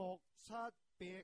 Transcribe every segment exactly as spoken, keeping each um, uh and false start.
六七別。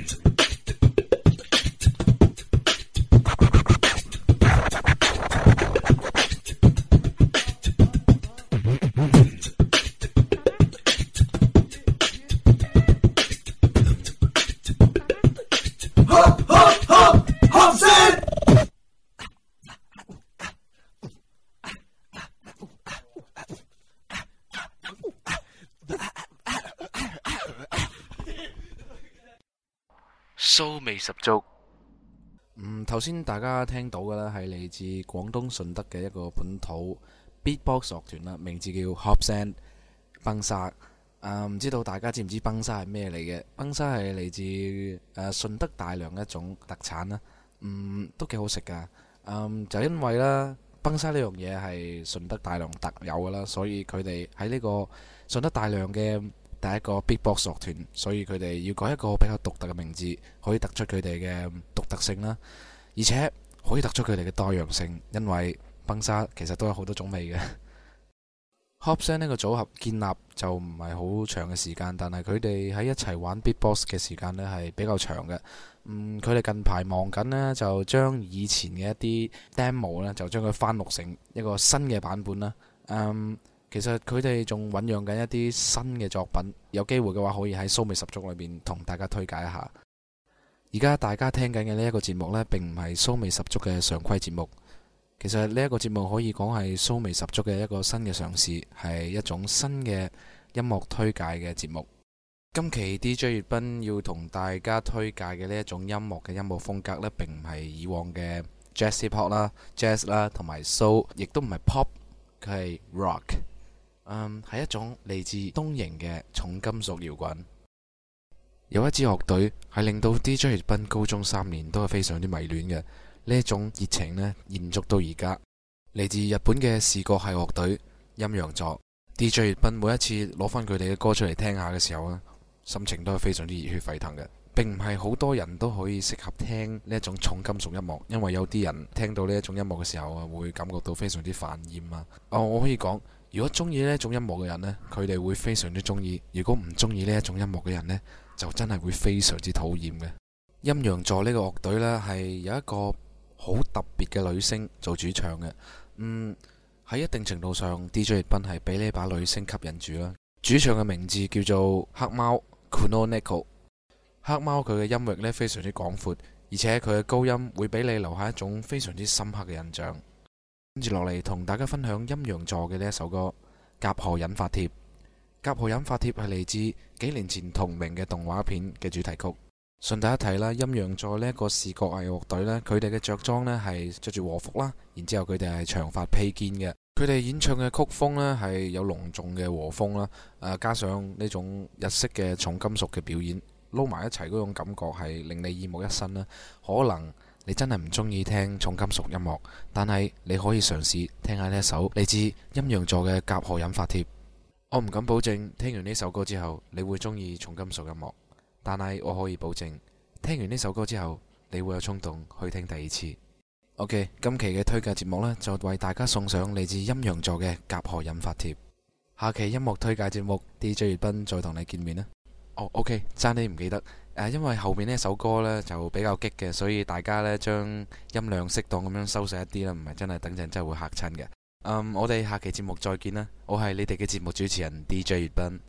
騷味十足。 嗯，頭先大家聽到嘅呢係嚟自廣東順德嘅一個本土 beatbox 樂團啦，名字叫 Hopsan 崩沙。啊，唔知道大家知唔知崩沙係咩嚟嘅？崩沙係嚟自誒順德大良一種特產啦。嗯，都幾好食噶。嗯，就因為啦，崩沙呢樣嘢係順德大良特有噶啦，所以佢哋喺呢個順德大良嘅第一個 beatbox 樂團，所以佢哋要改一個比較獨特嘅名字，可以突出佢哋嘅獨特性啦，而且可以突出佢哋嘅多樣性，因為崩沙其實都有好多種味嘅。Hopsan 呢個組合建立就唔係好長嘅時間，但係佢哋喺一齊玩 beatbox 嘅時間呢係比較長嘅。嗯，佢哋近排忙緊呢，就將以前嘅一啲 demo 呢，就將佢翻錄成一個新嘅版本啦。嗯。其實佢哋仲醞釀緊一啲新嘅作品，有機會嘅話可以喺騷味十足裏面同大家推介一下。而家大家聽緊嘅呢一個節目呢，並唔係騷味十足嘅常規節目。其實呢一個節目可以講係騷味十足嘅一個新嘅嘗試，係一種新嘅音樂推介嘅節目。今期 D J 粵賓要同大家推介嘅呢一種音樂嘅音樂風格呢，並唔係以往嘅 Jazz Hip Hop 啦、Jazz 啦同埋 Soul， 亦都唔係 Pop， 佢係 Rock。嗯，係一種嚟自東瀛嘅重金屬搖滾。有一支樂隊係令到 D J 粵賓高中三年都係非常之迷戀嘅，呢一種熱情呢延續到而家。嚟自日本嘅視覺系樂隊陰陽座。D J 粵賓每一次攞翻佢哋嘅歌出嚟聽下嘅時候呢，心情都係非常之熱血沸騰嘅。並唔係好多人都可以適合聽呢一種重金屬音樂，因為有啲人聽到呢一種音樂嘅時候啊，會感覺到非常之煩厭啊。哦，我可以講，如果中意呢一種音樂嘅人呢，佢哋會非常之中意；如果唔中意呢一種音樂嘅人呢，就真係會非常之討厭嘅。陰陽座呢個樂隊呢，係有一個好特別嘅女聲做主唱嘅。嗯，喺一定程度上 D J 粵賓係俾呢把女聲吸引住啦。主唱嘅名字叫做黑貓 Kuno Neko。黑貓佢嘅音域呢非常之廣闊，而且佢嘅高音會俾你留下一種非常之深刻嘅印象。跟住落嚟同大家分享陰陽座嘅呢一首歌《甲賀引發帖》。《甲賀引發帖》係嚟自幾年前同名嘅動畫片嘅主題曲。順帶一提啦，陰陽座呢一個視覺藝樂隊呢，佢哋嘅着裝呢係着住和服啦，然之後佢哋係長髮披肩嘅。佢哋演唱嘅曲風呢係有隆重嘅和風啦，誒加上呢種日式嘅重金屬嘅表演，撈埋一齊嗰種感覺係令你耳目一新啦。可能你真係唔中意聽重金屬音樂，但係你可以嘗試聽下呢一首嚟自陰陽座嘅《甲賀引發帖》。我唔敢保證聽完呢首歌之後你會中意重金屬音樂，但係我可以保證聽完呢首歌之後你會有衝動去聽第二次。OK， 今期嘅推介節目呢，就為大家送上嚟自陰陽座嘅《甲賀引發帖》。下期音樂推介節目 D J 粵賓再同你見面啦。哦 OK， 爭啲唔記得。誒，因為後面呢首歌呢就比較激嘅，所以大家呢將音量適當咁樣收細一啲啦，唔係真係等陣真係會嚇親嘅。嗯，我哋下期節目再見啦，我係你哋嘅節目主持人 D J 粵賓。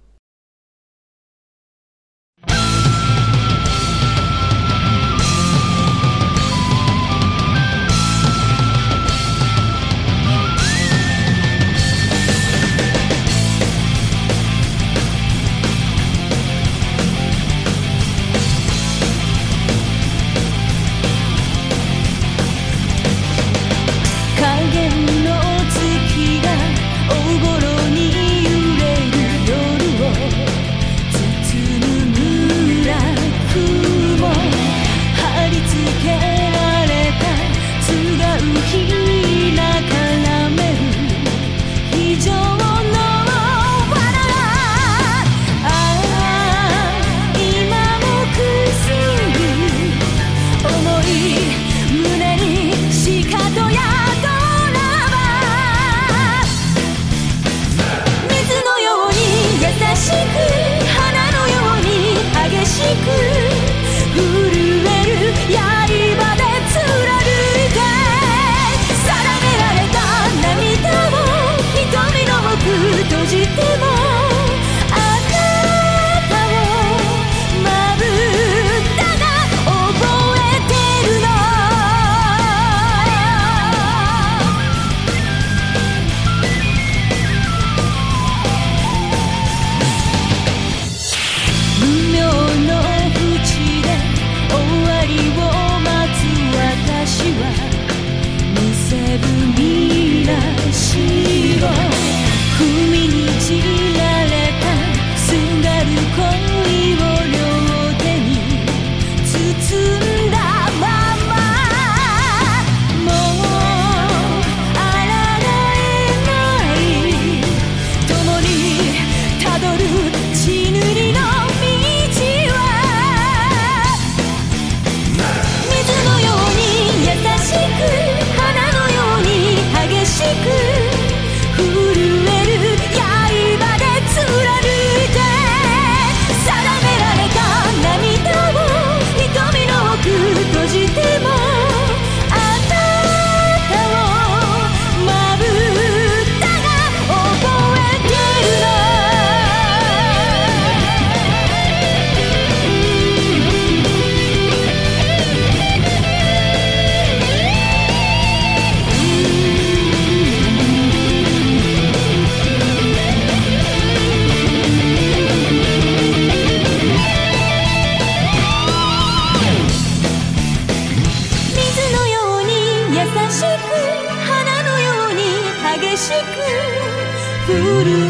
影の月がおごろに揺れる夜しく花のように激しく降る